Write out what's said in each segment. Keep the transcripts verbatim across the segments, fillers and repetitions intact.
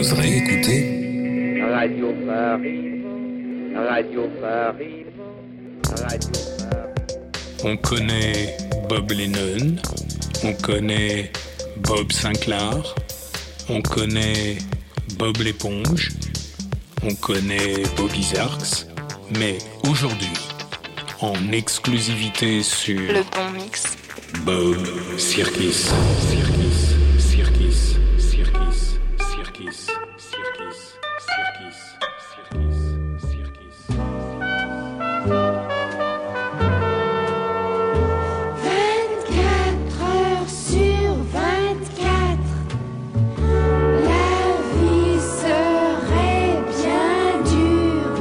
oserez écouter Radio Paris, Radio Paris, Radio Paris. On connaît Bob Lennon, on connaît Bob Sinclair, on connaît Bob l'éponge, on connaît Bobby Zarks, mais aujourd'hui, en exclusivité sur Le Bon Mix, Bob Sirkis, Sirkis, Sirkis, Sirkis, Sirkis, Sirkis, Sirkis, Sirkis, Sirkis. vingt-quatre heures sur vingt-quatre, la vie serait bien dure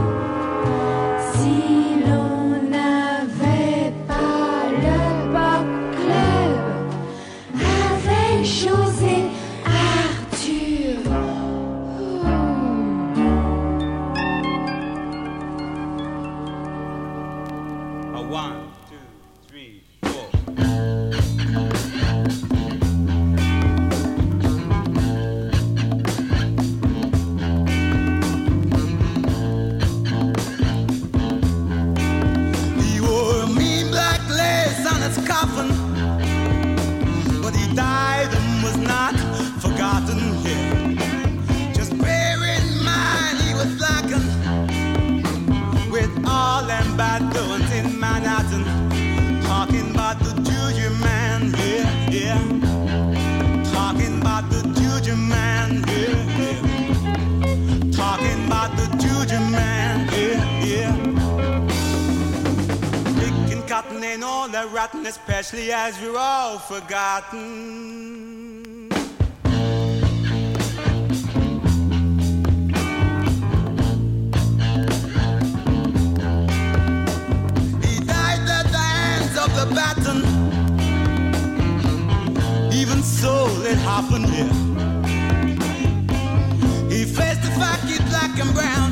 si l'on n'avait pas le Bob Club avec José Arthur. A one, two, three, four. He wore a mean black lace on his coffin, but he died and was not forgotten here. Just bear in mind he was blackened with all them bad doings in Manhattan. Talking about the Juju man, yeah, yeah. Talking about the Juju man, yeah, yeah. Talking about the Juju man, yeah, yeah. Picking cotton ain't all that rotten, especially as we're all forgotten. He died at the hands of the baton. Even so, it happened here. He faced the fact he's black and brown.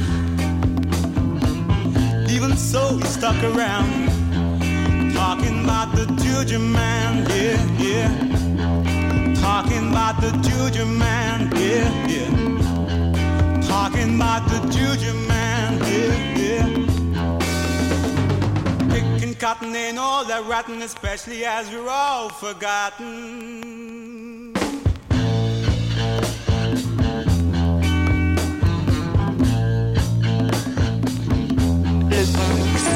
Even so, he stuck around. Talking about the Juju man, yeah, yeah. Talking about the Juju man, yeah, yeah. Talking about the Juju man, yeah, yeah. Picking cotton ain't all that rotten, especially as we're all forgotten. Le Bon Mix.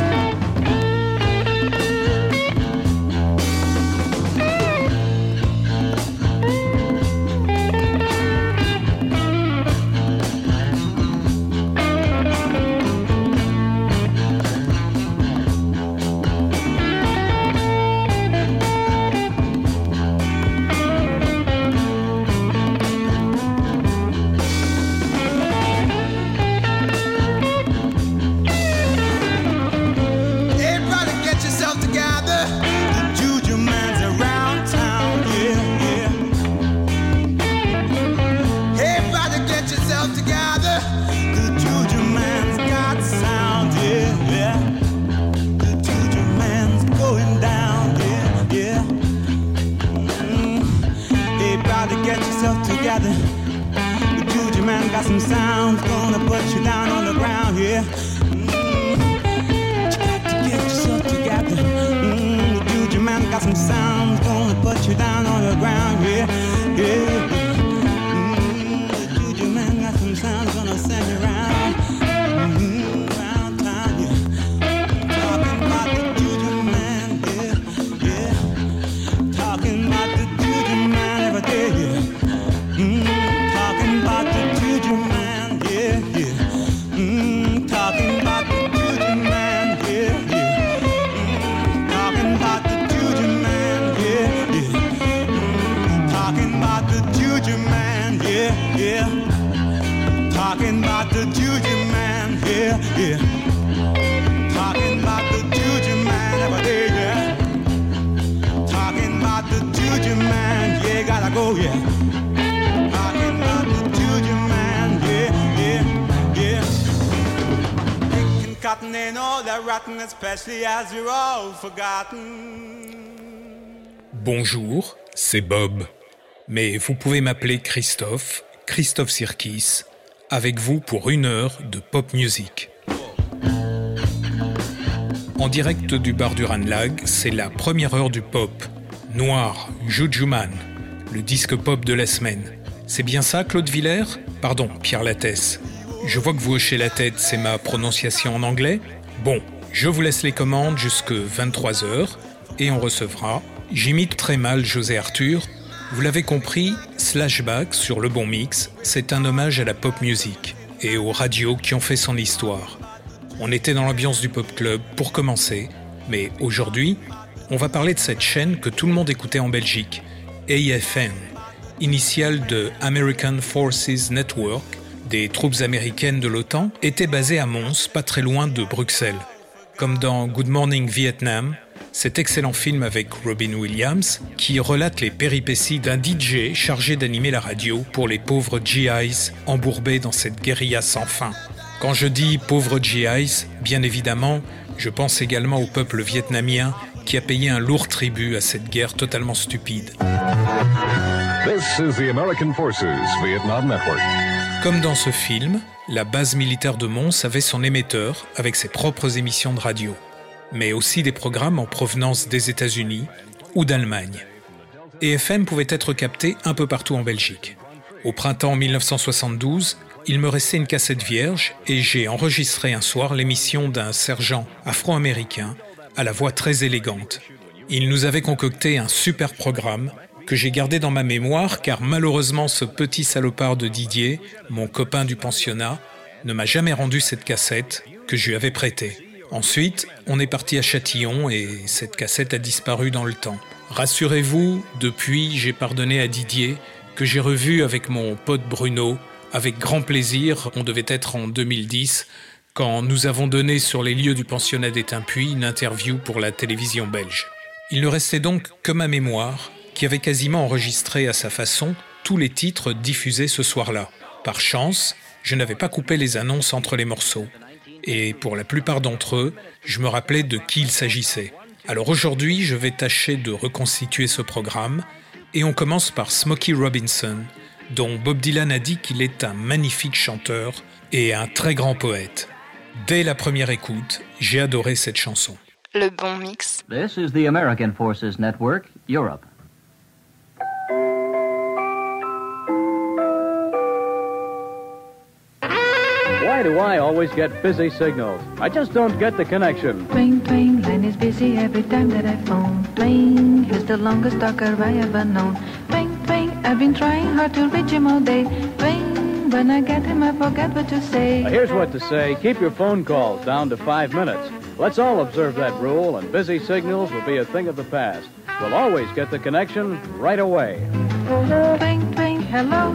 Everybody get yourself together. The Juju man's around town, yeah, yeah. Everybody get yourself together. The Juju man's got sound, yeah, yeah. The Juju man's going down, yeah, yeah. Mm. Everybody get yourself together. The Juju man got some sound, gonna put you down on the ground, yeah. Get yourself together. Mm, the Juju man got some sound, gonna put you down on the ground, yeah, yeah. Mm, the Juju man got some sound, gonna send you around, mm, around town, yeah. Talking about the Juju man, yeah, yeah. Talking about the Juju man every day, yeah. Mm, talking about the Juju man, yeah, yeah. Mm, talking about the Juju man, yeah, yeah. Mm, talking about the Juju man, yeah, yeah. Mm, talking about the Juju man, yeah, yeah. Talking about the Juju man, yeah, yeah. Talking about the Juju man every day, yeah. Talking about the Juju man, yeah, gotta go, yeah. Talking about the Juju man, yeah, yeah, yeah. Picking cotton ain't all that rotten, especially as we're all forgotten. Bonjour, c'est Bob. Mais vous pouvez m'appeler Christophe, Christophe Sirkis, avec vous pour une heure de pop music. En direct du bar du Ranlag, c'est la première heure du pop. Noir, Juju Man, le disque pop de la semaine. C'est bien ça, Claude Villers ? Pardon, Pierre Lattès. Je vois que vous hochez la tête, c'est ma prononciation en anglais ? Bon, je vous laisse les commandes jusque vingt-trois heures et on recevra. J'imite très mal José Arthur. Vous l'avez compris, Slashback sur Le Bon Mix, c'est un hommage à la pop music et aux radios qui ont fait son histoire. On était dans l'ambiance du pop club pour commencer, mais aujourd'hui, on va parler de cette chaîne que tout le monde écoutait en Belgique, A F N, initiale de American Forces Network, des troupes américaines de l'OTAN, était basée à Mons, pas très loin de Bruxelles. Comme dans Good Morning Vietnam, cet excellent film avec Robin Williams, qui relate les péripéties d'un D J chargé d'animer la radio pour les pauvres G Is embourbés dans cette guérilla sans fin. Quand je dis pauvres G Is, bien évidemment, je pense également au peuple vietnamien qui a payé un lourd tribut à cette guerre totalement stupide. This is the American Forces Vietnam Network. Comme dans ce film, la base militaire de Mons avait son émetteur avec ses propres émissions de radio, mais aussi des programmes en provenance des États-Unis ou d'Allemagne. A F M pouvait être capté un peu partout en Belgique. Au printemps dix-neuf cent soixante-douze, il me restait une cassette vierge et j'ai enregistré un soir l'émission d'un sergent afro-américain à la voix très élégante. Il nous avait concocté un super programme que j'ai gardé dans ma mémoire car malheureusement ce petit salopard de Didier, mon copain du pensionnat, ne m'a jamais rendu cette cassette que je lui avais prêtée. Ensuite, on est parti à Châtillon et cette cassette a disparu dans le temps. Rassurez-vous, depuis, j'ai pardonné à Didier que j'ai revu avec mon pote Bruno. Avec grand plaisir, on devait être en deux mille dix, quand nous avons donné sur les lieux du pensionnat d'Étainpuis une interview pour la télévision belge. Il ne restait donc que ma mémoire, qui avait quasiment enregistré à sa façon tous les titres diffusés ce soir-là. Par chance, je n'avais pas coupé les annonces entre les morceaux. Et pour la plupart d'entre eux, je me rappelais de qui il s'agissait. Alors aujourd'hui, je vais tâcher de reconstituer ce programme, et on commence par Smokey Robinson, dont Bob Dylan a dit qu'il est un magnifique chanteur et un très grand poète. Dès la première écoute, j'ai adoré cette chanson. Le Bon Mix. This is the American Forces Network, Europe. Why do I always get busy signals? I just don't get the connection. Twing, twing, line is busy every time that I phone. Twing, he's the longest talker I ever known. Twing, twing, I've been trying hard to reach him all day. Twing, when I get him I forget what to say. Here's what to say. Keep your phone calls down to five minutes. Let's all observe that rule and busy signals will be a thing of the past. We'll always get the connection right away. Twing, twing, hello.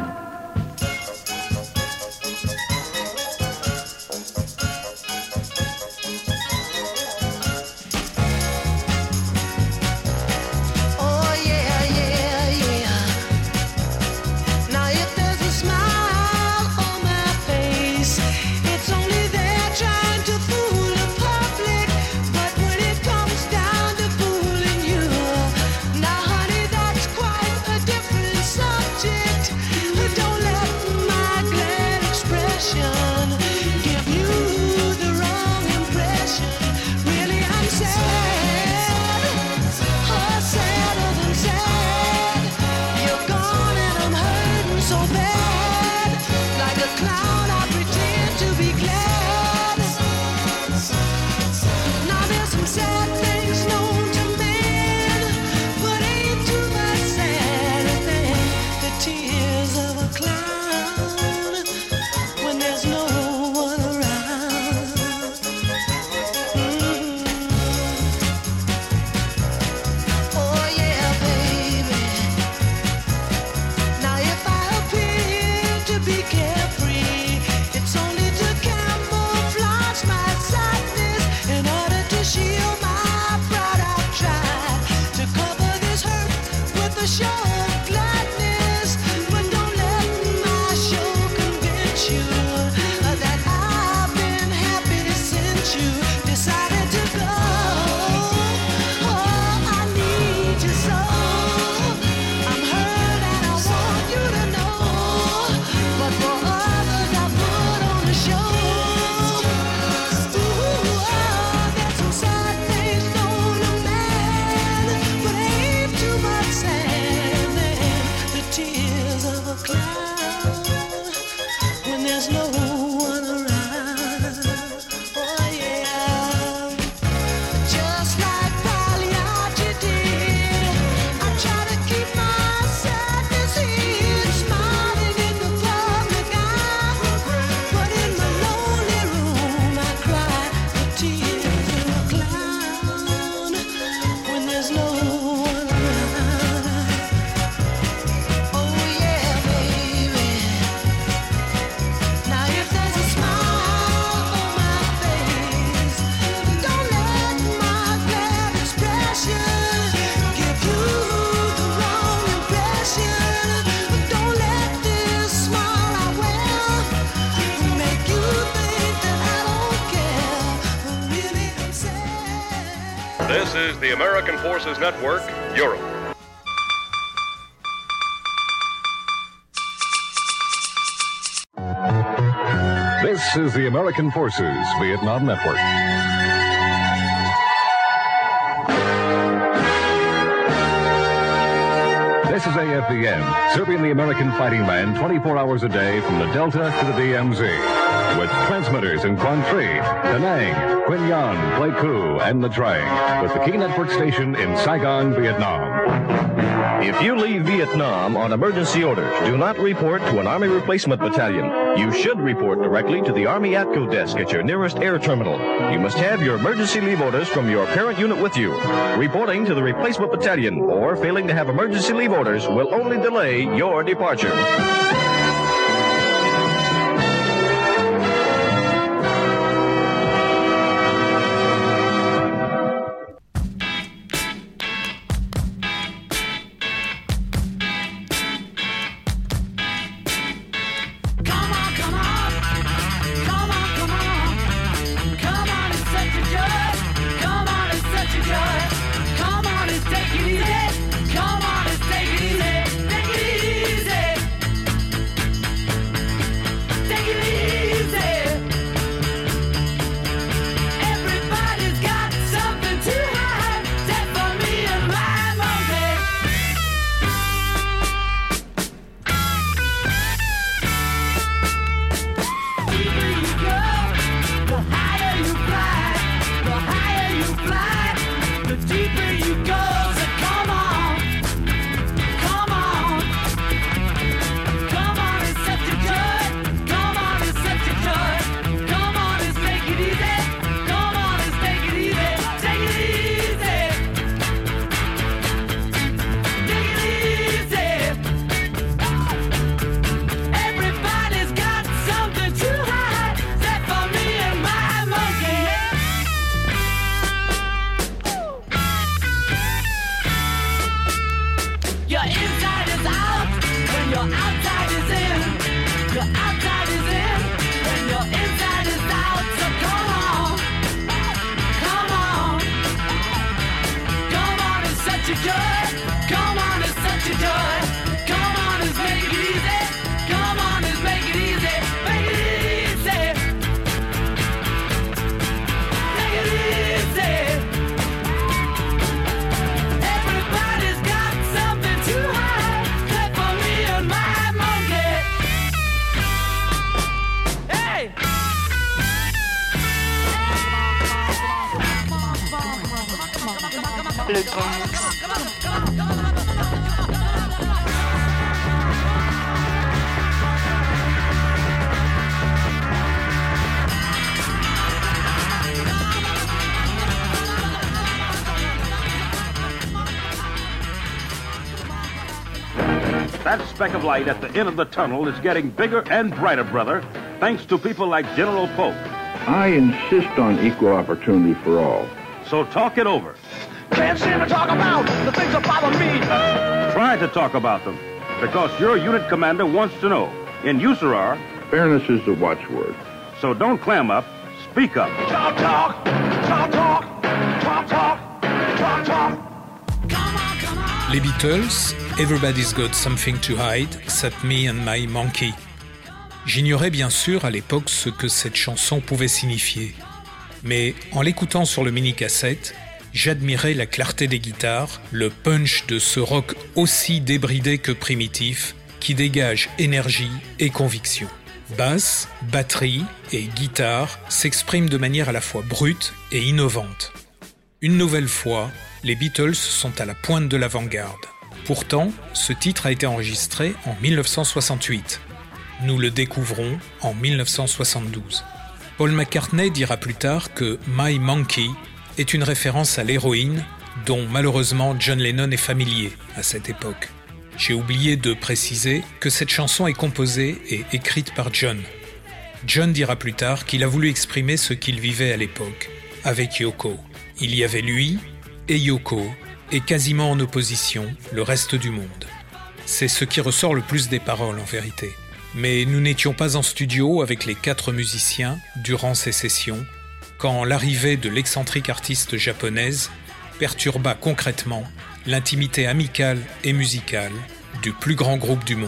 For others I This is the American Forces Network, Europe. This is the American Forces Vietnam Network. This is A F V N, serving the American fighting man twenty-four hours a day from the Delta to the D M Z. With transmitters in Quang Tri, Da Nang, Quy Nhon, Pleiku, and Nha Trang. With the key network station in Saigon, Vietnam. If you leave Vietnam on emergency orders, do not report to an Army Replacement Battalion. You should report directly to the Army ATCO desk at your nearest air terminal. You must have your emergency leave orders from your parent unit with you. Reporting to the Replacement Battalion or failing to have emergency leave orders will only delay your departure. Le Grand Mix. That speck of light at the end of the tunnel is getting bigger and brighter, brother, thanks to people like General Polk. I insist on equal opportunity for all. So talk it over. Can't seem to talk about the things that bother me. Try to talk about them, because your unit commander wants to know. In U S A R R, fairness is the watchword. So don't clam up, speak up. Talk, talk, talk, talk, talk, talk, talk, talk. Les Beatles, Everybody's Got Something to Hide, except Me and My Monkey. J'ignorais bien sûr à l'époque ce que cette chanson pouvait signifier. Mais en l'écoutant sur le mini-cassette, j'admirais la clarté des guitares, le punch de ce rock aussi débridé que primitif, qui dégage énergie et conviction. Basse, batterie et guitare s'expriment de manière à la fois brute et innovante. Une nouvelle fois, les Beatles sont à la pointe de l'avant-garde. Pourtant, ce titre a été enregistré en dix-neuf cent soixante-huit. Nous le découvrons en dix-neuf cent soixante-douze. Paul McCartney dira plus tard que « My Monkey » est une référence à l'héroïne dont malheureusement John Lennon est familier à cette époque. J'ai oublié de préciser que cette chanson est composée et écrite par John. John dira plus tard qu'il a voulu exprimer ce qu'il vivait à l'époque, avec Yoko. Il y avait lui et Yoko, et quasiment en opposition, le reste du monde. C'est ce qui ressort le plus des paroles en vérité. Mais nous n'étions pas en studio avec les quatre musiciens durant ces sessions, quand l'arrivée de l'excentrique artiste japonaise perturba concrètement l'intimité amicale et musicale du plus grand groupe du monde.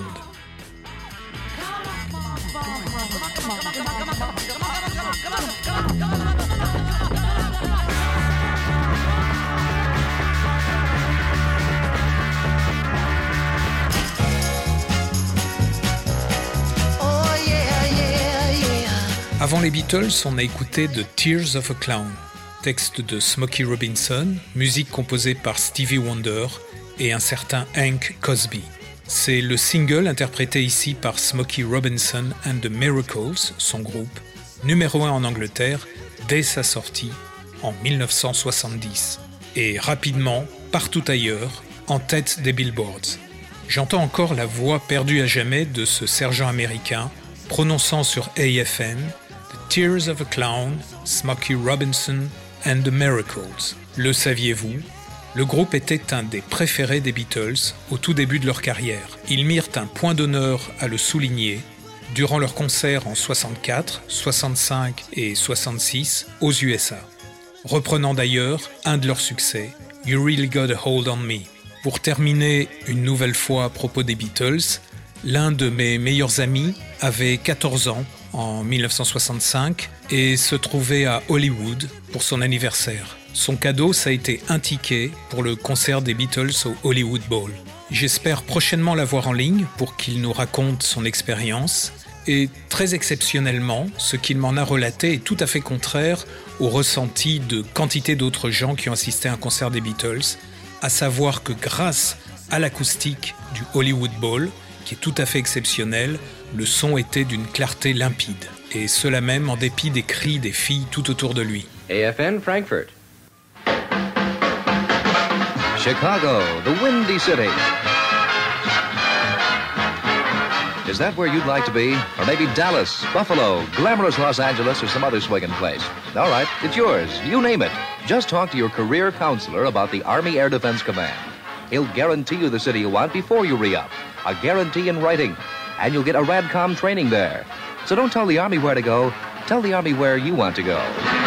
Avant les Beatles, on a écouté The Tears of a Clown, texte de Smokey Robinson, musique composée par Stevie Wonder et un certain Hank Cosby. C'est le single interprété ici par Smokey Robinson and the Miracles, son groupe, numéro un en Angleterre dès sa sortie en dix-neuf cent soixante-dix, et rapidement, partout ailleurs, en tête des billboards. J'entends encore la voix perdue à jamais de ce sergent américain prononçant sur A F M The Tears of a Clown, Smokey Robinson and the Miracles. Le saviez-vous? Le groupe était un des préférés des Beatles au tout début de leur carrière. Ils mirent un point d'honneur à le souligner durant leurs concerts en soixante-quatre, soixante-cinq et soixante-six aux U S A, reprenant d'ailleurs un de leurs succès, You Really Got a Hold on Me. Pour terminer une nouvelle fois à propos des Beatles, l'un de mes meilleurs amis avait quatorze ans en dix-neuf cent soixante-cinq et se trouvait à Hollywood pour son anniversaire. Son cadeau, ça a été un ticket pour le concert des Beatles au Hollywood Bowl. J'espère prochainement l'avoir en ligne pour qu'il nous raconte son expérience. Et très exceptionnellement, ce qu'il m'en a relaté est tout à fait contraire au ressenti de quantité d'autres gens qui ont assisté à un concert des Beatles, à savoir que grâce à l'acoustique du Hollywood Bowl, qui est tout à fait exceptionnel, le son était d'une clarté limpide. Et cela même en dépit des cris des filles tout autour de lui. A F N Frankfurt. Chicago, the Windy City. Is that where you'd like to be? Or maybe Dallas, Buffalo, glamorous Los Angeles, or some other swinging place? All right, it's yours. You name it. Just talk to your career counselor about the Army Air Defense Command. He'll guarantee you the city you want before you re-up. A guarantee in writing. And you'll get a RADCOM training there. So don't tell the Army where to go. Tell the Army where you want to go.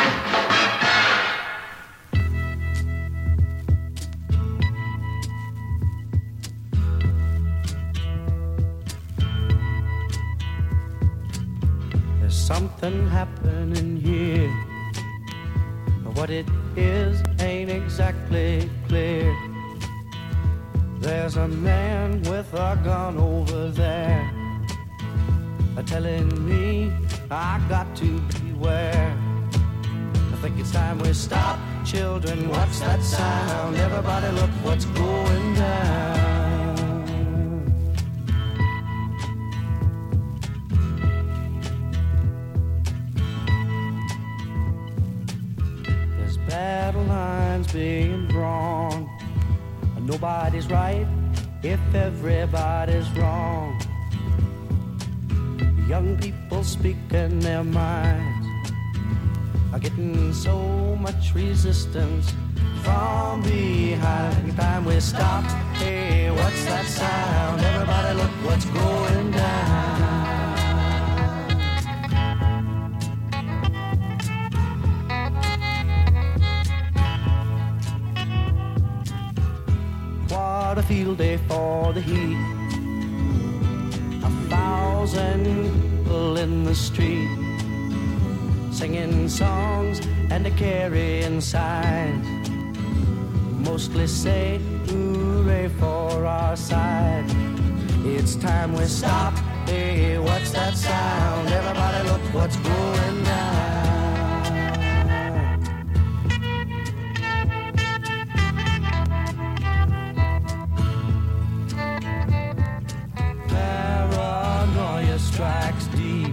There's something happening here. What it is ain't exactly clear. There's a man with a gun over there, telling me I got to beware. I think it's time we stop. Children, what's that sound? Everybody look what's going down. There's battle lines being drawn. Nobody's right if everybody's wrong. Young people speaking their minds are getting so much resistance from behind. Time we stop. Hey, what's that sound? Everybody look what's going down. What a field day for the heat. A thousand people in the street, singing songs and a carrying signs. Mostly say hooray for our side. It's time we stop. Hey, what's that sound? Everybody look what's going down. Strikes deep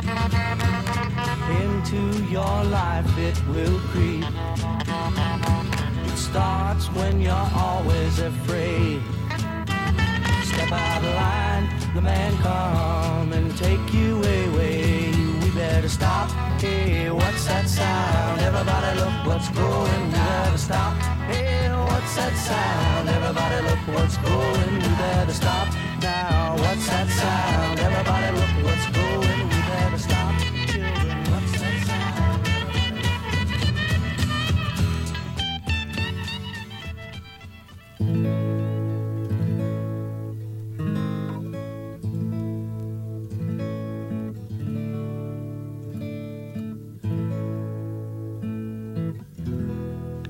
into your life, it will creep. It starts when you're always afraid. Step out of line, the man come and take you away. We better stop. Hey, what's that sound? Everybody look what's going. We better stop. Hey, what's that sound? Everybody look what's going. We better stop. Now, what's that sound? Everybody look what's going. We better stop. Children, what's that sound?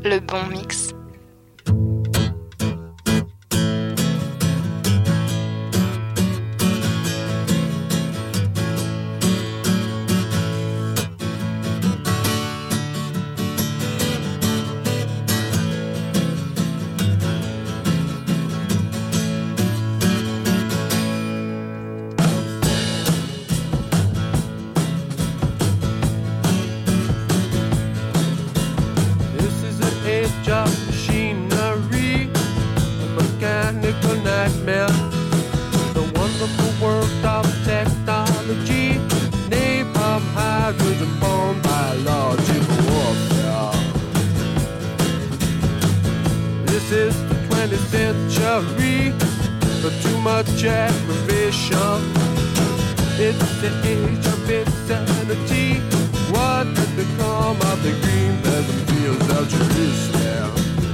Le bon mix. Much aggravation. It's the age of insanity. What has become of the green pleasant fields of Jerusalem?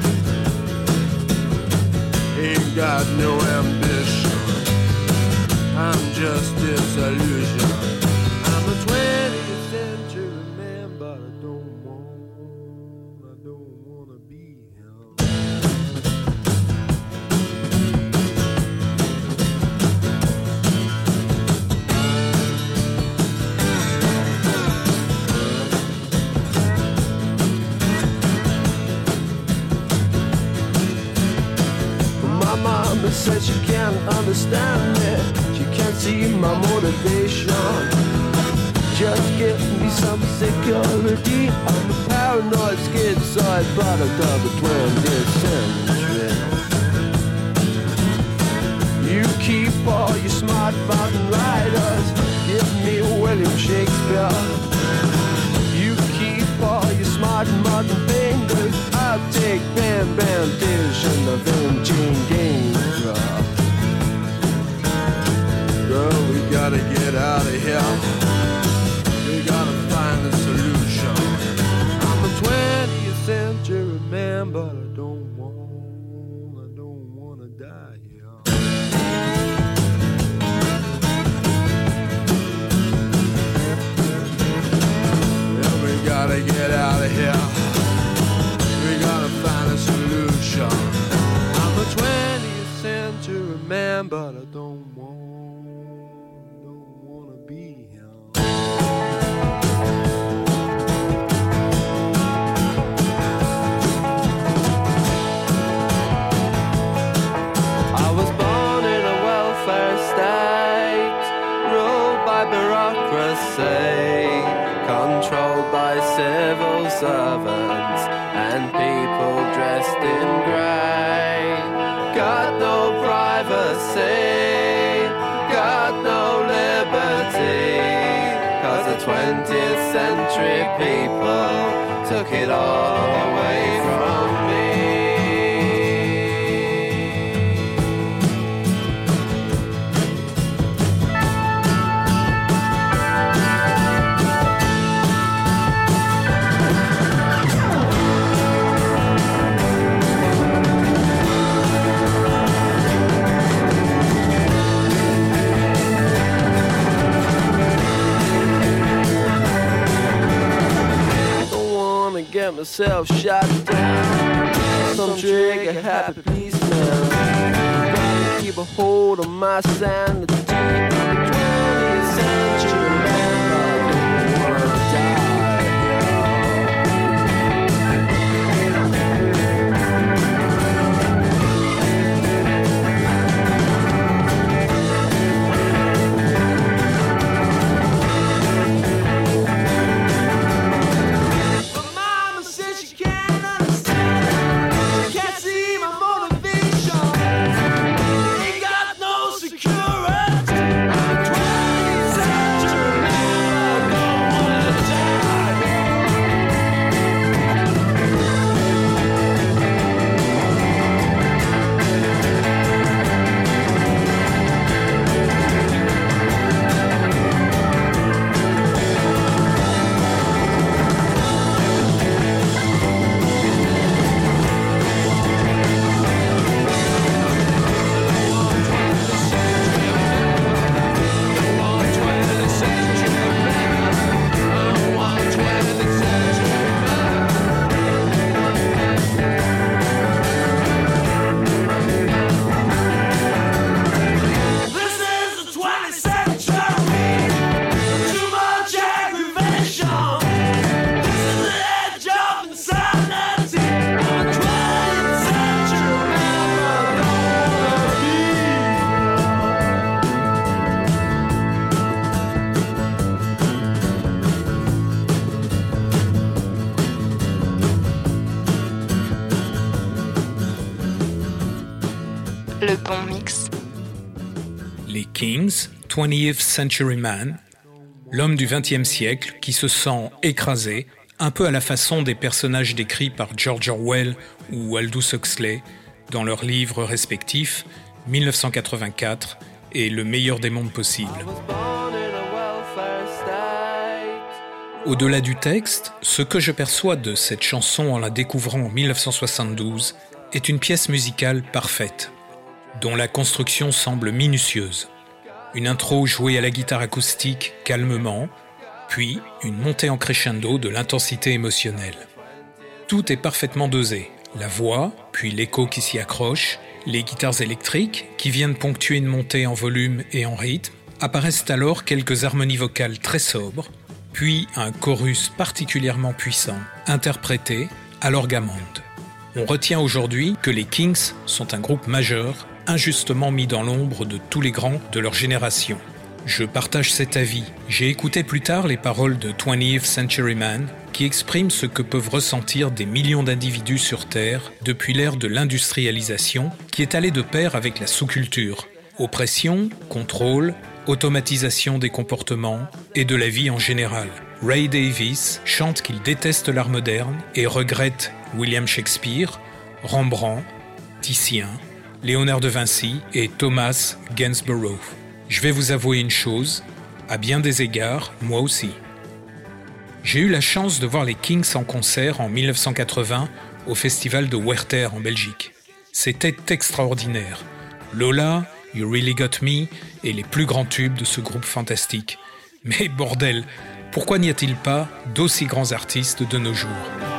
Ain't got no ambition. I'm just disillusion. I'm a twentieth century man, but I don't want, I don't want to be him. Mama says she can't understand me. She can't see my motivation. Just give me some security. I'm a paranoid schizoid product of the twentieth century. You keep all your smart mountain riders. Give me William Shakespeare. You keep all your smart modern fingers. I'll take Bam Bam Dish and the Vinci Game. Girl, we gotta get out of here. We gotta find a solution. I'm a twentieth century man, but I don't want, I don't wanna die here. Yeah, we gotta get out of here. We gotta find a solution. I'm a twentieth century man, but I don't want, don't wanna be him. I was born in a welfare state, ruled by bureaucracy, controlled by civil servants and people dressed in grey. Got no privacy, got no liberty, 'cause the twentieth century people took it all away from me. Get myself shot down. Some trigger happy policeman. Gotta keep a hold on my sanity. The twentieth century man, I don't wanna die. Le bon mix. Les Kings, twentieth Century Man, l'homme du vingtième siècle qui se sent écrasé, un peu à la façon des personnages décrits par George Orwell ou Aldous Huxley dans leurs livres respectifs mille neuf cent quatre-vingt-quatre et Le meilleur des mondes possibles. Au-delà du texte, ce que je perçois de cette chanson en la découvrant en mille neuf cent soixante-douze est une pièce musicale parfaite, dont la construction semble minutieuse. Une intro jouée à la guitare acoustique calmement, puis une montée en crescendo de l'intensité émotionnelle. Tout est parfaitement dosé, la voix, puis l'écho qui s'y accroche, les guitares électriques, qui viennent ponctuer une montée en volume et en rythme, apparaissent alors quelques harmonies vocales très sobres, puis un chorus particulièrement puissant, interprété à l'orgamonde. On retient aujourd'hui que les Kings sont un groupe majeur, injustement mis dans l'ombre de tous les grands de leur génération. Je partage cet avis. J'ai écouté plus tard les paroles de twentieth Century Man qui expriment ce que peuvent ressentir des millions d'individus sur Terre depuis l'ère de l'industrialisation qui est allée de pair avec la sous-culture. Oppression, contrôle, automatisation des comportements et de la vie en général. Ray Davies chante qu'il déteste l'art moderne et regrette William Shakespeare, Rembrandt, Titien, Léonard de Vinci et Thomas Gainsborough. Je vais vous avouer une chose, à bien des égards, moi aussi. J'ai eu la chance de voir les Kings en concert en mille neuf cent quatre-vingts au festival de Werther en Belgique. C'était extraordinaire. Lola, You Really Got Me et les plus grands tubes de ce groupe fantastique. Mais bordel, pourquoi n'y a-t-il pas d'aussi grands artistes de nos jours ?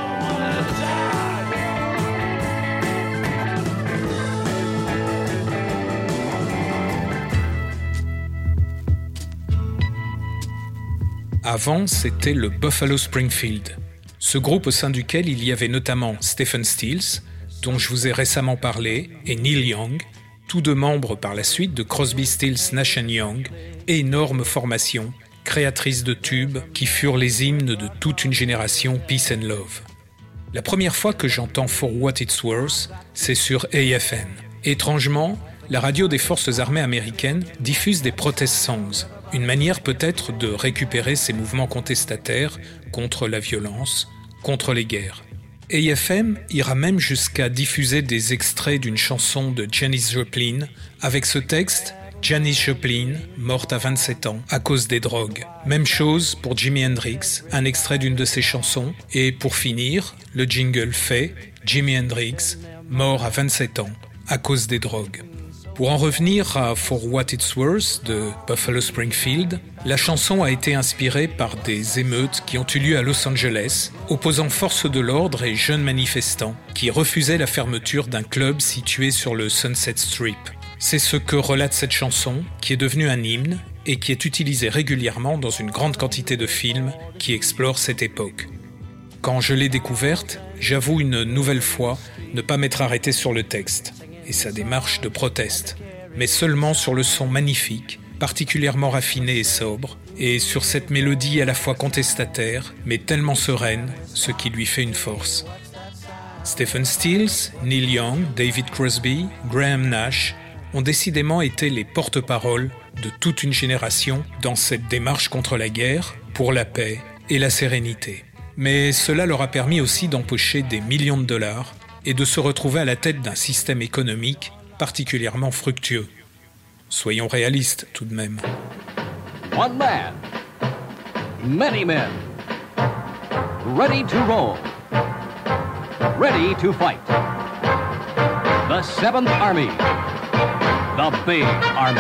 Avant, c'était le Buffalo Springfield, ce groupe au sein duquel il y avait notamment Stephen Stills, dont je vous ai récemment parlé, et Neil Young, tous deux membres par la suite de Crosby, Stills, Nash and Young, énorme formation, créatrice de tubes qui furent les hymnes de toute une génération Peace and Love. La première fois que j'entends For What It's Worth, c'est sur A F N. Étrangement, la radio des forces armées américaines diffuse des protest songs, une manière peut-être de récupérer ces mouvements contestataires contre la violence, contre les guerres. A F M ira même jusqu'à diffuser des extraits d'une chanson de Janis Joplin avec ce texte « Janis Joplin, morte à vingt-sept ans à cause des drogues ». Même chose pour Jimi Hendrix, un extrait d'une de ses chansons. Et pour finir, le jingle fait « Jimi Hendrix, mort à vingt-sept ans à cause des drogues ». Pour en revenir à For What It's Worth de Buffalo Springfield, la chanson a été inspirée par des émeutes qui ont eu lieu à Los Angeles, opposant forces de l'ordre et jeunes manifestants qui refusaient la fermeture d'un club situé sur le Sunset Strip. C'est ce que relate cette chanson, qui est devenue un hymne et qui est utilisée régulièrement dans une grande quantité de films qui explorent cette époque. Quand je l'ai découverte, j'avoue une nouvelle fois ne pas m'être arrêté sur le texte et sa démarche de proteste, mais seulement sur le son magnifique, particulièrement raffiné et sobre, et sur cette mélodie à la fois contestataire, mais tellement sereine, ce qui lui fait une force. Stephen Stills, Neil Young, David Crosby, Graham Nash ont décidément été les porte-paroles de toute une génération dans cette démarche contre la guerre, pour la paix et la sérénité. Mais cela leur a permis aussi d'empocher des millions de dollars et de se retrouver à la tête d'un système économique particulièrement fructueux. Soyons réalistes tout de même. One man, many men, ready to roll, ready to fight. The Seventh Army, the big army.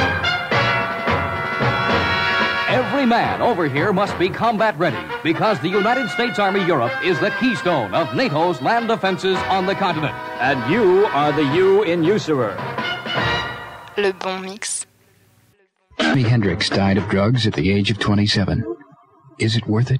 Every man over here must be combat ready because the United States Army Europe is the keystone of NATO's land defenses on the continent. And you are the U in usurer. Le bon mix. Jimi Hendrix died of drugs at the age of twenty-seven. Is it worth it?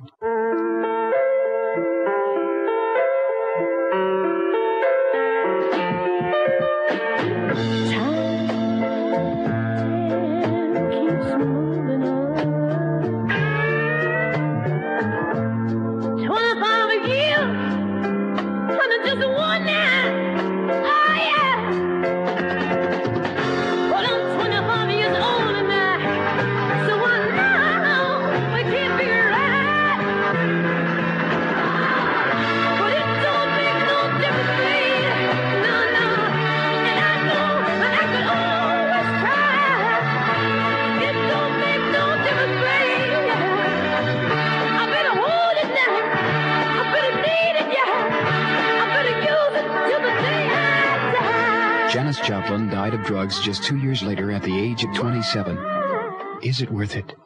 Joplin died of drugs just two years later at the age of twenty-seven. Is it worth it?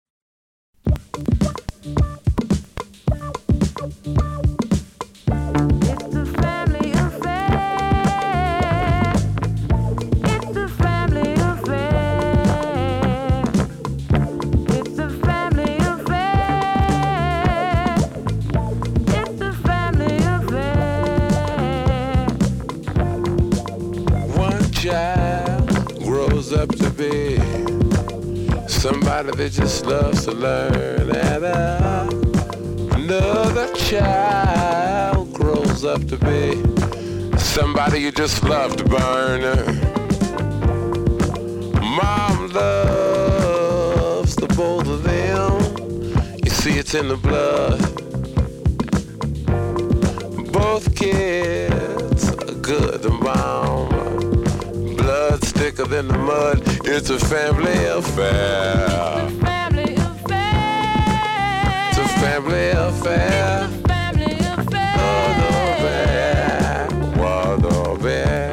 Somebody that just loves to learn, and uh, another child grows up to be somebody you just love to burn. Mom loves the both of them. You see, it's in the blood. Both kids are good to mom. Blood's thicker than the mud. It's a family affair. It's a family affair. It's a family affair. It's a family affair. Oh, the bad.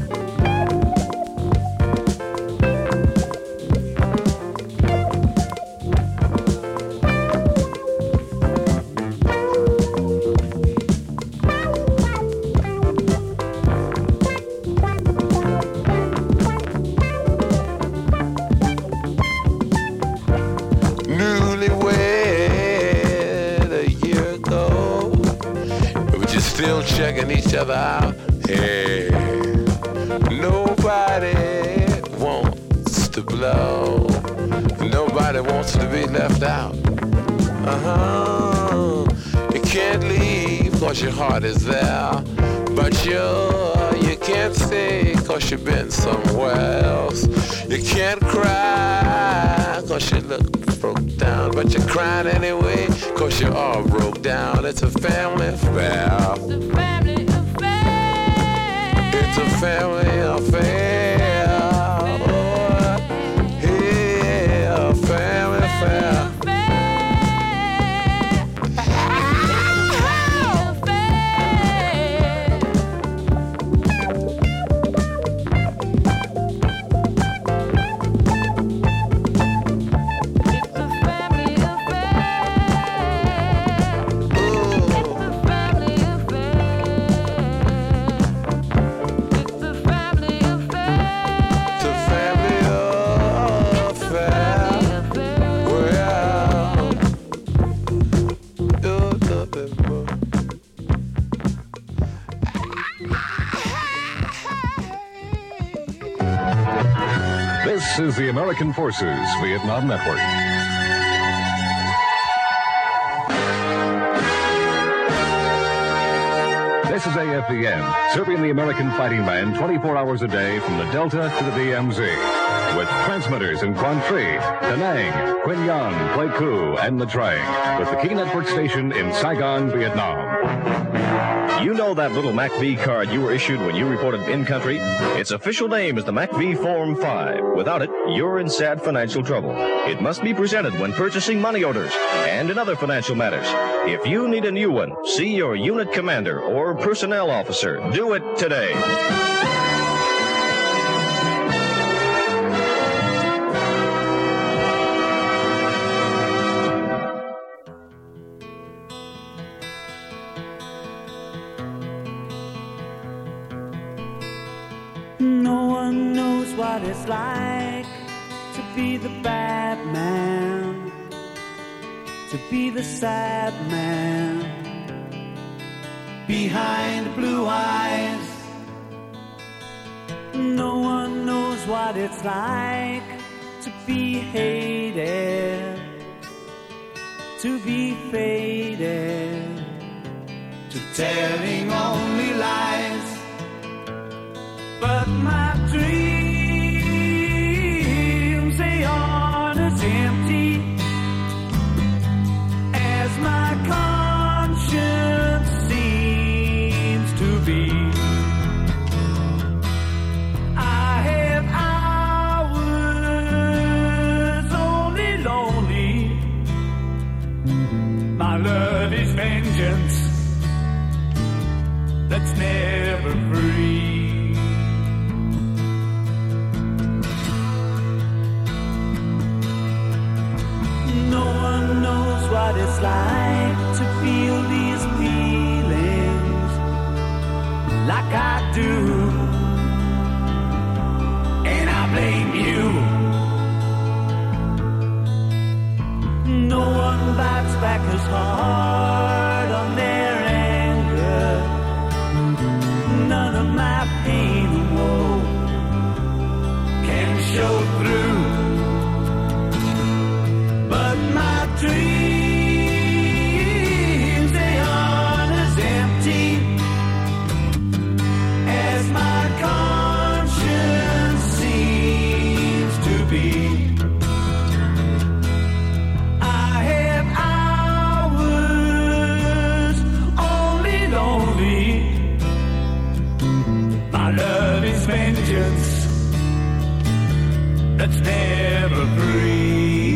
Still checking each other out. Hey, nobody wants to blow. Nobody wants to be left out. Uh-huh. You can't leave cause your heart is there. But you, you can't stay cause you've been somewhere else. You can't cry cause you look broke down. But you're crying anyway cause you're all broke down. It's a family affair. It's a family affair. It's a family affair. Oh, yeah, a family affair. This is the American Forces Vietnam Network. This is A F V N, serving the American fighting man twenty-four hours a day from the Delta to the D M Z. With transmitters in Quang Tri, Da Nang, Quy Nhon, Pleiku, and Nha Trang. With the Key Network station in Saigon, Vietnam. You know that little M A C V card you were issued when you reported in-country? Its official name is the M A C V Form five. Without it, you're in sad financial trouble. It must be presented when purchasing money orders and in other financial matters. If you need a new one, see your unit commander or personnel officer. Do it today. No one knows what it's like to be the bad man, to be the sad man behind blue eyes. No one knows what it's like to be hated, to be faded, to telling only lies. But my dreams, they aren't as empty as my conscience seems to be. I have hours only lonely. My love is vengeance that's never free. it's like to feel these feelings like I do. And I blame you. No one bites back as hard on their anger. None of my pain and woe can show through. But my dreams, they aren't as empty as my conscience seems to be. I have hours only lonely. My love is vengeance that's never free.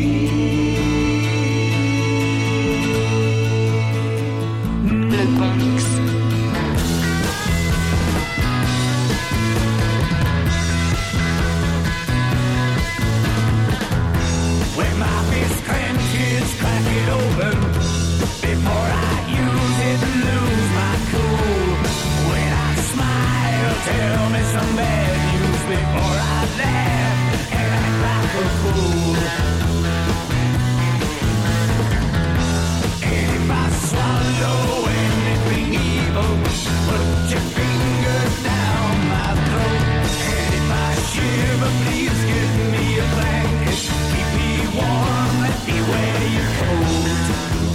Le bon mix. When my fist clenches, crack it open before I use it and lose my cool. When I smile, tell me some bad news before I laugh and act like a fool. And if I swallow anything evil, put your finger down my throat. And if I shiver, please give me a blanket. Keep me warm, let me wear your coat.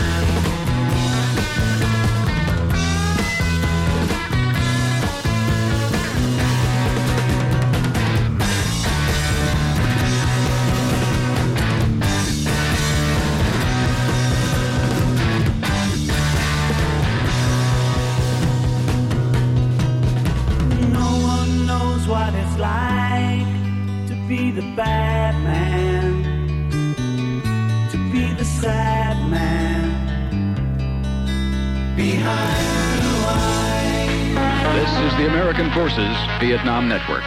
No one knows what it's like to be the bad man, to be the sad man behind blue eyes. This is the American Forces Vietnam Network.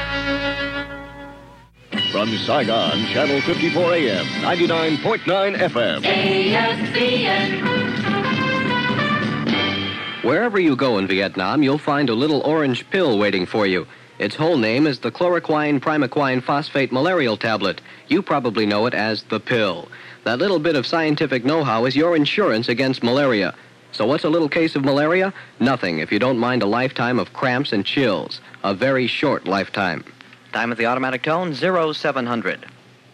From Saigon, Channel fifty-four A M, ninety-nine point nine F M. A S V N. Wherever you go in Vietnam, you'll find a little orange pill waiting for you. Its whole name is the chloroquine primaquine phosphate malarial tablet. You probably know it as the pill. That little bit of scientific know-how is your insurance against malaria. So what's a little case of malaria? Nothing if you don't mind a lifetime of cramps and chills. A very short lifetime. Time at the automatic tone, zero seven hundred.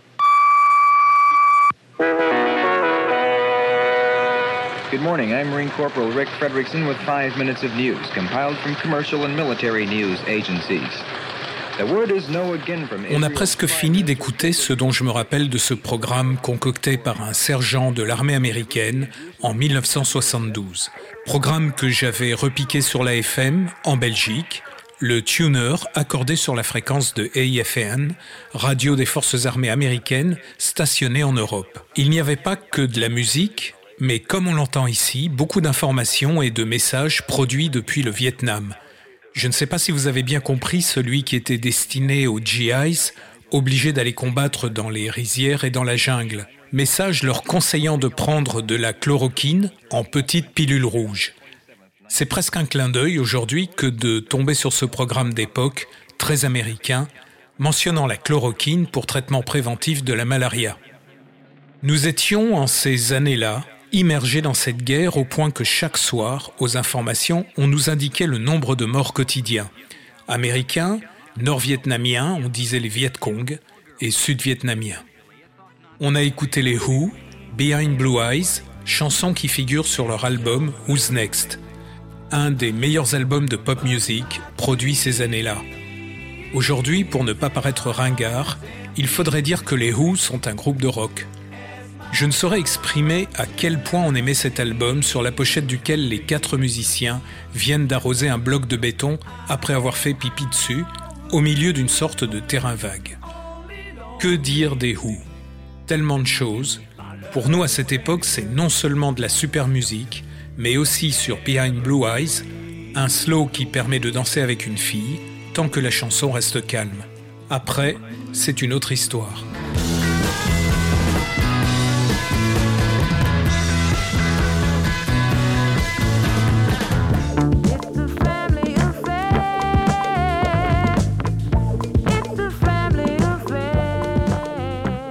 Good morning. I'm Marine Corporal Rick Frederickson with five minutes of news compiled from commercial and military news agencies. The word is no again from On a presque fini d'écouter ce dont je me rappelle de ce programme concocté par un sergent de l'armée américaine en dix-neuf cent soixante-douze. Programme que j'avais repiqué sur la F M en Belgique, le tuner accordé sur la fréquence de A I F N, radio des forces armées américaines stationnée en Europe. Il n'y avait pas que de la musique, mais comme on l'entend ici, beaucoup d'informations et de messages produits depuis le Vietnam. Je ne sais pas si vous avez bien compris celui qui était destiné aux G Is, obligés d'aller combattre dans les rizières et dans la jungle. Message leur conseillant de prendre de la chloroquine en petites pilules rouges. C'est presque un clin d'œil aujourd'hui que de tomber sur ce programme d'époque, très américain, mentionnant la chloroquine pour traitement préventif de la malaria. Nous étions, en ces années-là, immergés dans cette guerre au point que chaque soir, aux informations, on nous indiquait le nombre de morts quotidiens. Américains, nord-vietnamiens, on disait les Viet Cong, et sud-vietnamiens. On a écouté les Who, Behind Blue Eyes, chansons qui figurent sur leur album Who's Next, un des meilleurs albums de pop music produits ces années-là. Aujourd'hui, pour ne pas paraître ringard, il faudrait dire que les Who sont un groupe de rock. Je ne saurais exprimer à quel point on aimait cet album sur la pochette duquel les quatre musiciens viennent d'arroser un bloc de béton après avoir fait pipi dessus, au milieu d'une sorte de terrain vague. Que dire des Who ? Tellement de choses. Pour nous à cette époque, c'est non seulement de la super musique, mais aussi sur Behind Blue Eyes, un slow qui permet de danser avec une fille, tant que la chanson reste calme. Après, c'est une autre histoire.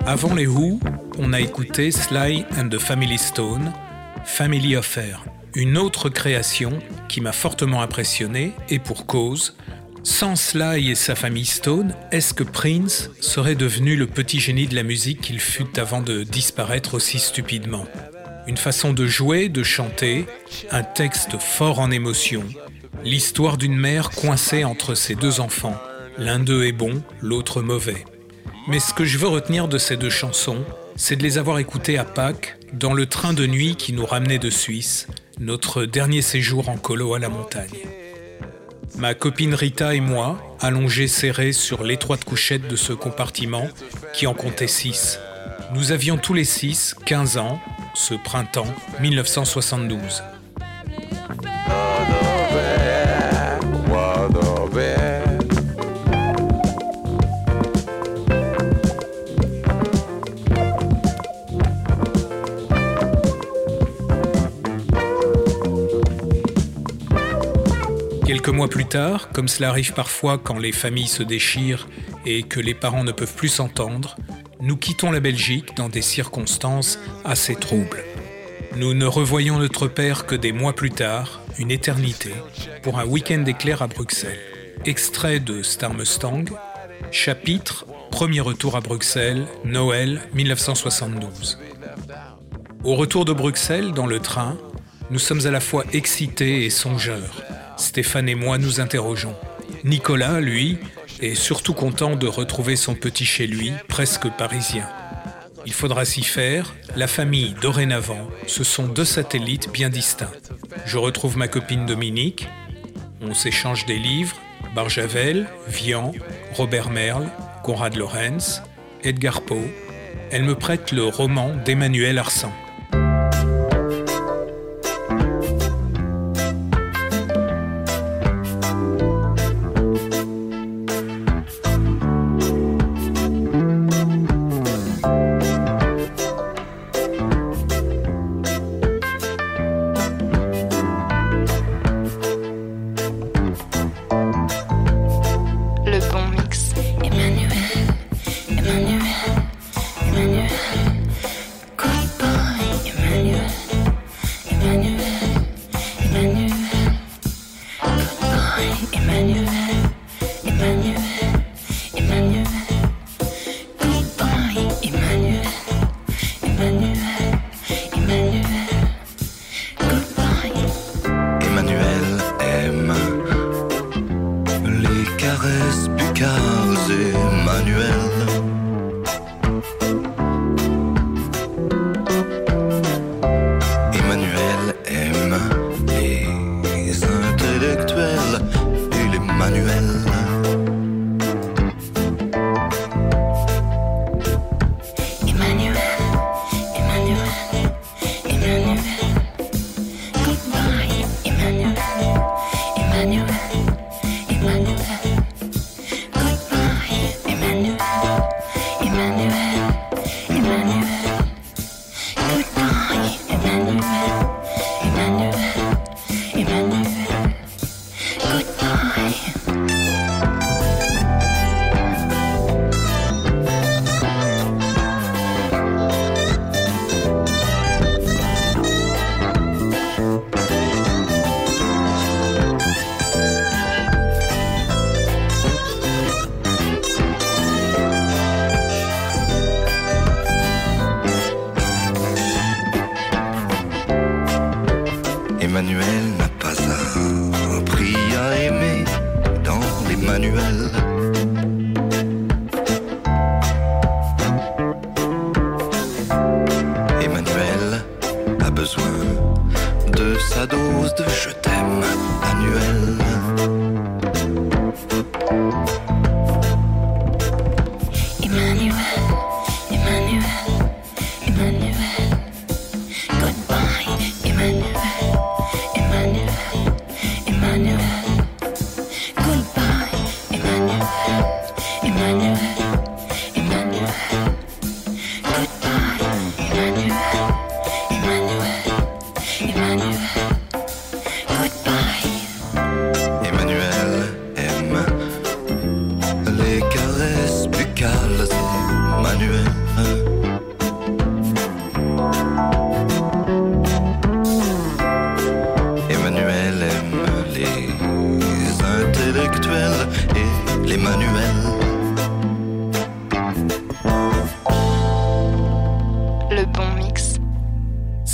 Avant les Who, on a écouté Sly and the Family Stone, Family Affair, une autre création qui m'a fortement impressionné et pour cause. Sans Sly et sa famille Stone, est-ce que Prince serait devenu le petit génie de la musique qu'il fut avant de disparaître aussi stupidement ? Une façon de jouer, de chanter, un texte fort en émotion, l'histoire d'une mère coincée entre ses deux enfants. L'un d'eux est bon, l'autre mauvais. Mais ce que je veux retenir de ces deux chansons, c'est de les avoir écoutées à Pâques, dans le train de nuit qui nous ramenait de Suisse, notre dernier séjour en colo à la montagne. Ma copine Rita et moi, allongés serrés sur l'étroite couchette de ce compartiment, qui en comptait six. Nous avions tous les six quinze ans, ce printemps dix-neuf cent soixante-douze. Quelques mois plus tard, comme cela arrive parfois quand les familles se déchirent et que les parents ne peuvent plus s'entendre, nous quittons la Belgique dans des circonstances assez troubles. Nous ne revoyons notre père que des mois plus tard, une éternité, pour un week-end éclair à Bruxelles. Extrait de Star Mustang, chapitre Premier retour à Bruxelles, Noël dix-neuf cent soixante-douze. Au retour de Bruxelles, dans le train, nous sommes à la fois excités et songeurs. Stéphane et moi nous interrogeons. Nicolas, lui, est surtout content de retrouver son petit chez lui, presque parisien. Il faudra s'y faire, la famille, dorénavant, ce sont deux satellites bien distincts. Je retrouve ma copine Dominique, on s'échange des livres, Barjavel, Vian, Robert Merle, Konrad Lorenz, Edgar Poe. Elle me prête le roman d'Emmanuel Arsan.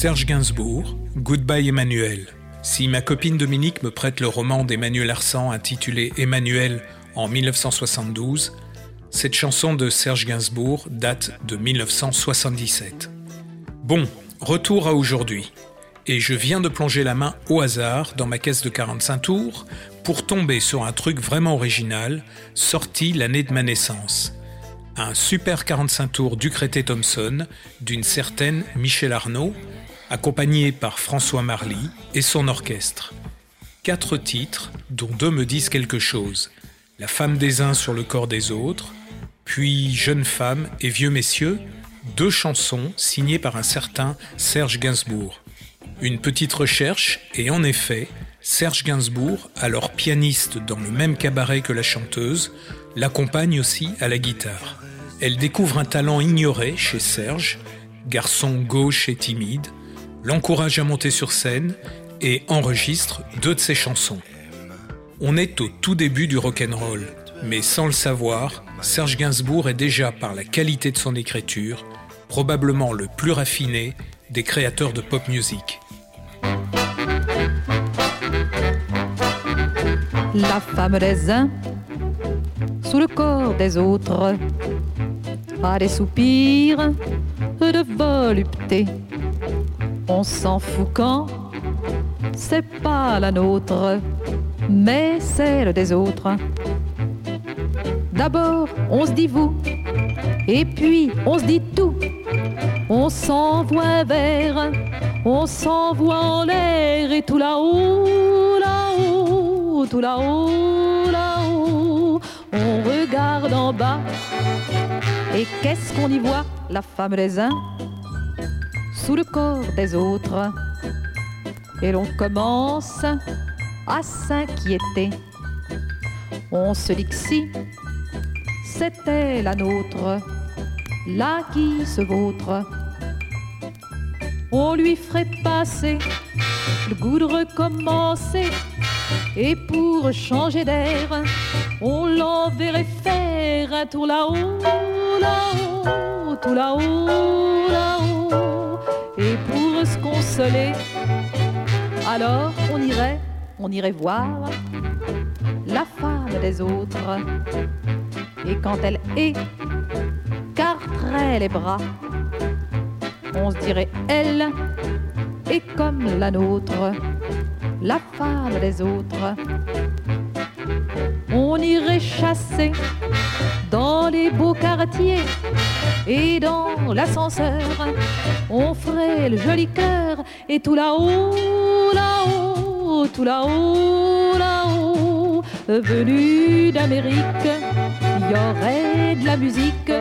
Serge Gainsbourg, Goodbye Emmanuel. Si ma copine Dominique me prête le roman d'Emmanuel Arsan intitulé Emmanuel en dix-neuf cent soixante-douze, cette chanson de Serge Gainsbourg date de dix-neuf cent soixante-dix-sept. Bon, retour à aujourd'hui. Et je viens de plonger la main au hasard dans ma caisse de quarante-cinq tours pour tomber sur un truc vraiment original, sorti l'année de ma naissance. Un super quarante-cinq tours Ducretet Thompson d'une certaine Michel Arnaud, accompagné par François Marly et son orchestre. Quatre titres, dont deux me disent quelque chose. La femme des uns sur le corps des autres, puis Jeune femme et Vieux messieurs, deux chansons signées par un certain Serge Gainsbourg. Une petite recherche et en effet, Serge Gainsbourg, alors pianiste dans le même cabaret que la chanteuse, l'accompagne aussi à la guitare. Elle découvre un talent ignoré chez Serge, garçon gauche et timide, l'encourage à monter sur scène et enregistre deux de ses chansons. On est au tout début du rock'n'roll, mais sans le savoir, Serge Gainsbourg est déjà, par la qualité de son écriture, probablement le plus raffiné des créateurs de pop music. La femme des uns sous le corps des autres a des soupirs de volupté. On s'en fout quand c'est pas la nôtre, mais celle des autres. D'abord, on se dit vous, et puis on se dit tout. On s'envoie un verre, on s'envoie en l'air, et tout là-haut, là-haut, tout là-haut, là-haut. On regarde en bas, et qu'est-ce qu'on y voit? La femme des uns sous le corps des autres. Et l'on commence à s'inquiéter. On se dit que si c'était la nôtre, là qui se vautre, on lui ferait passer le goût de recommencer. Et pour changer d'air, on l'enverrait faire un tour là-haut, là-haut, tout là-haut, là-haut. Et pour se consoler, alors on irait, on irait voir la femme des autres. Et quand elle écarterait les bras, on se dirait elle est comme la nôtre, la femme des autres. On irait chasser dans les beaux quartiers et dans l'ascenseur, on ferait le joli cœur. Et tout là-haut, là-haut, tout là-haut, là-haut, venu d'Amérique, il y aurait de la musique.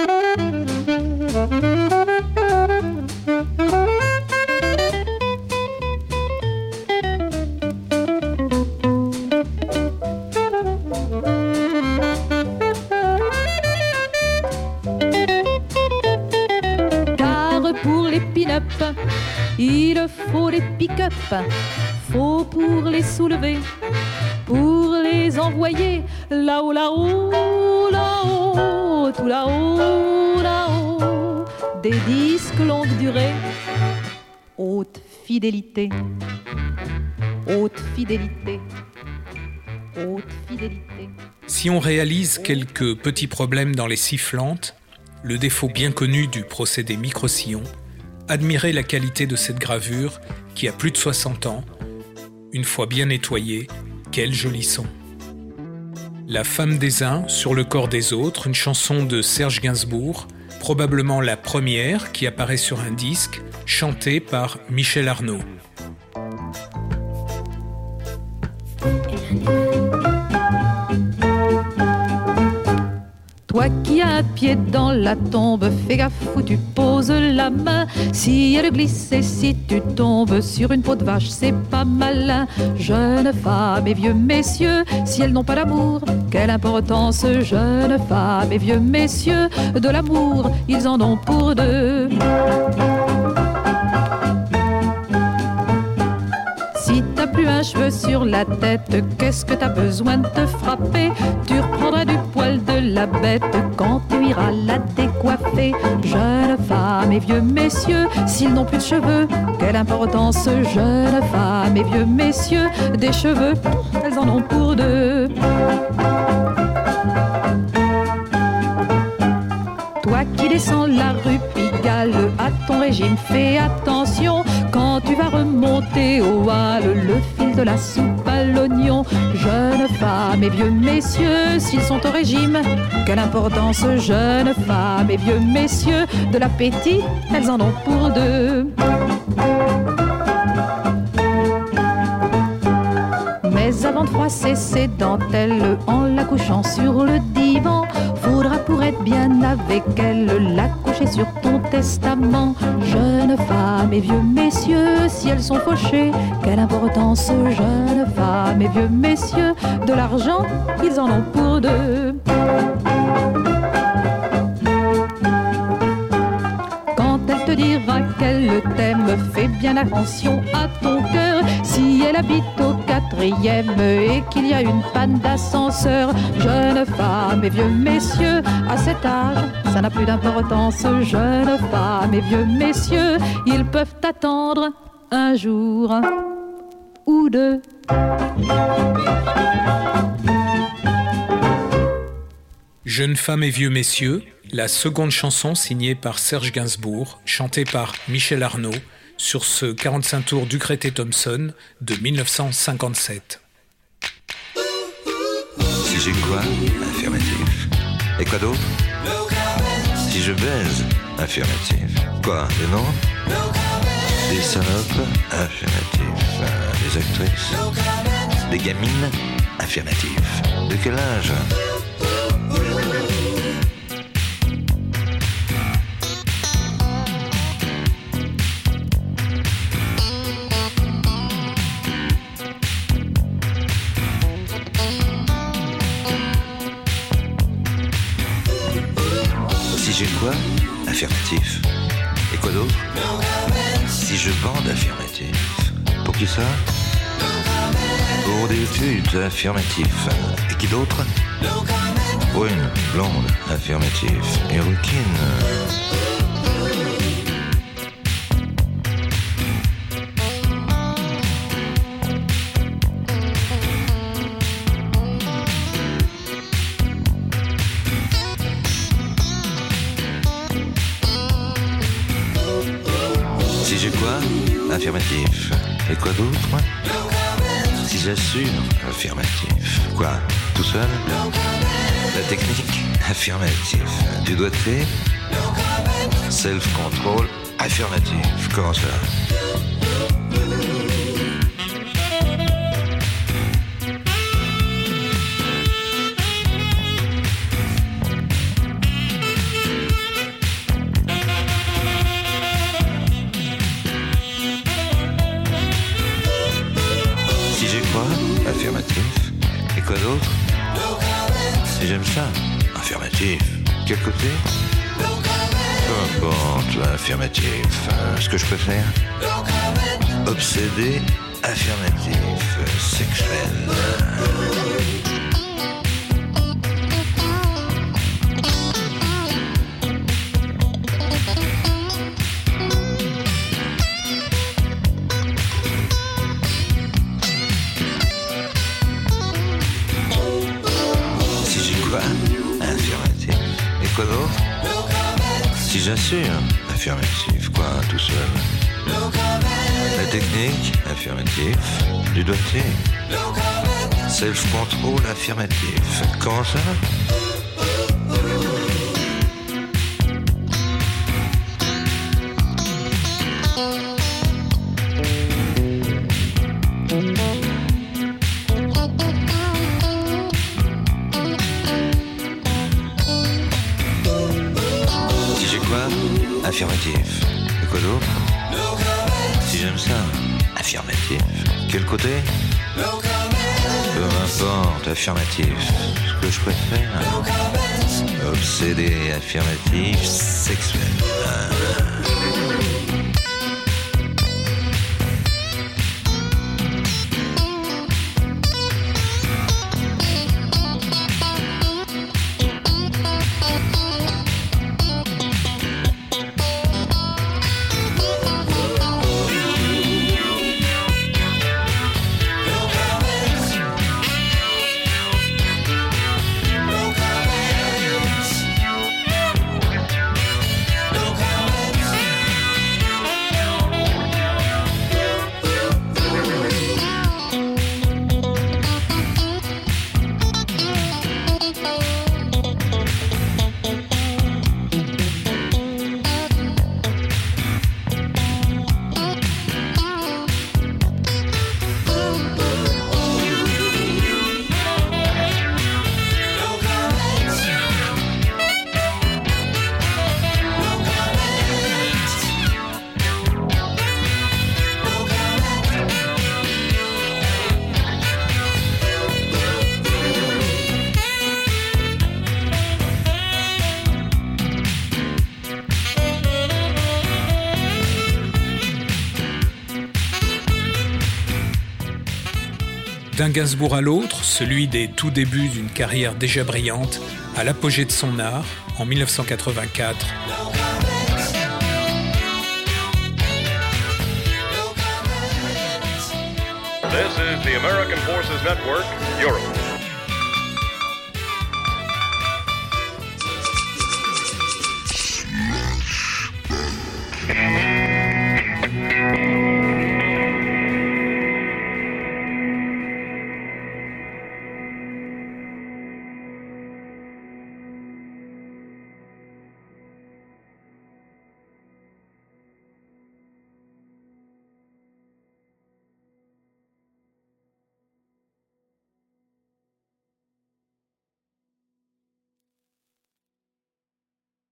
Il faut des pick-up, faut pour les soulever, pour les envoyer là-haut, là-haut, là-haut, tout là-haut, là-haut. Des disques longue durée, haute fidélité, haute fidélité, haute fidélité. Si on réalise quelques petits problèmes dans les sifflantes, le défaut bien connu du procédé micro-sillon, admirez la qualité de cette gravure qui a plus de soixante ans. Une fois bien nettoyée, quel joli son. La femme des uns sur le corps des autres, une chanson de Serge Gainsbourg, probablement la première qui apparaît sur un disque, chantée par Michel Arnaud. Toi qui as un pied dans la tombe, fais gaffe où tu poses la main. Si elle glisse et si tu tombes sur une peau de vache, c'est pas malin. Jeunes femmes et vieux messieurs, si elles n'ont pas d'amour, quelle importance. Jeunes femmes et vieux messieurs, de l'amour, ils en ont pour deux. Si t'as plus un cheveu sur la tête, qu'est-ce que t'as besoin de te frapper? Tu reprendras du poil de la la bête quand tu iras la décoiffer. Jeunes femmes et vieux messieurs, s'ils n'ont plus de cheveux, quelle importance, jeunes femmes et vieux messieurs, des cheveux, elles en ont pour deux. Toi qui descends la rue Pigalle, à ton régime fais attention. Quand tu vas remonter au Halles, le fil de la soupe à l'oignon. Jeunes femmes et vieux messieurs, s'ils sont au régime, quelle importance, jeunes femmes et vieux messieurs, de l'appétit, elles en ont pour deux. Mais avant de froisser ses dentelles en la couchant sur le divan, faudra pour être bien avec elle la coucher sur ton testament. Jeunes femmes et vieux messieurs, si elles sont fauchées, quelle importance, jeunes femmes et vieux messieurs, de l'argent, ils en ont pour deux. Quand elle te dira qu'elle t'aime, fais bien attention à ton cœur. Si elle habite au quatrième et qu'il y a une panne d'ascenseur, jeunes femmes et vieux messieurs, à cet âge, ça n'a plus d'importance. Jeunes femmes et vieux messieurs, ils peuvent attendre un jour ou deux. Jeunes femmes et vieux messieurs, la seconde chanson signée par Serge Gainsbourg, chantée par Michel Arnaud, sur ce quarante-cinq tours du Ducretet-Thompson de dix-neuf cent cinquante-sept. Si j'ai quoi? Affirmatif. Et quoi d'autre? Si je baise? Affirmatif. Quoi? Des noms? Des salopes? Affirmatif. Des actrices? Des gamines? Affirmatif. De quel âge? Si j'ai quoi? Affirmatif. Et quoi d'autre? Si je bande? Affirmatif. Pour qui ça? Pour des études? Affirmatif. Et qui d'autre? Brune, blonde? Affirmatif. Et rouquine? Si j'ai quoi? Affirmatif. Et quoi d'autre? Si j'assure? Affirmatif. Quoi? Tout seul? La technique? Affirmatif. Du doigté? Self-control? Affirmatif. Comment ça? Si j'ai quoi? Affirmatif. Et quoi d'autre? Si j'aime ça? Affirmatif. Quel côté? Peu importe, affirmatif. Ce que je préfère? Obsédé, affirmatif, sexuel. Affirmatif. Et quoi d'autre? Si j'assure? Affirmatif. Quoi, tout seul? La technique? Affirmatif. Du doigté? Self-control? Affirmatif. Comment ça? Affirmatif. Et quoi d'autre? Si j'aime ça? Affirmatif. Quel côté? Peu importe, affirmatif. Ce que je préfère? Obsédé, affirmatif, sexuel. Ah. D'un Gainsbourg à l'autre, celui des tout débuts d'une carrière déjà brillante, à l'apogée de son art, en dix-neuf cent quatre-vingt-quatre. This is the American Forces Network, Europe.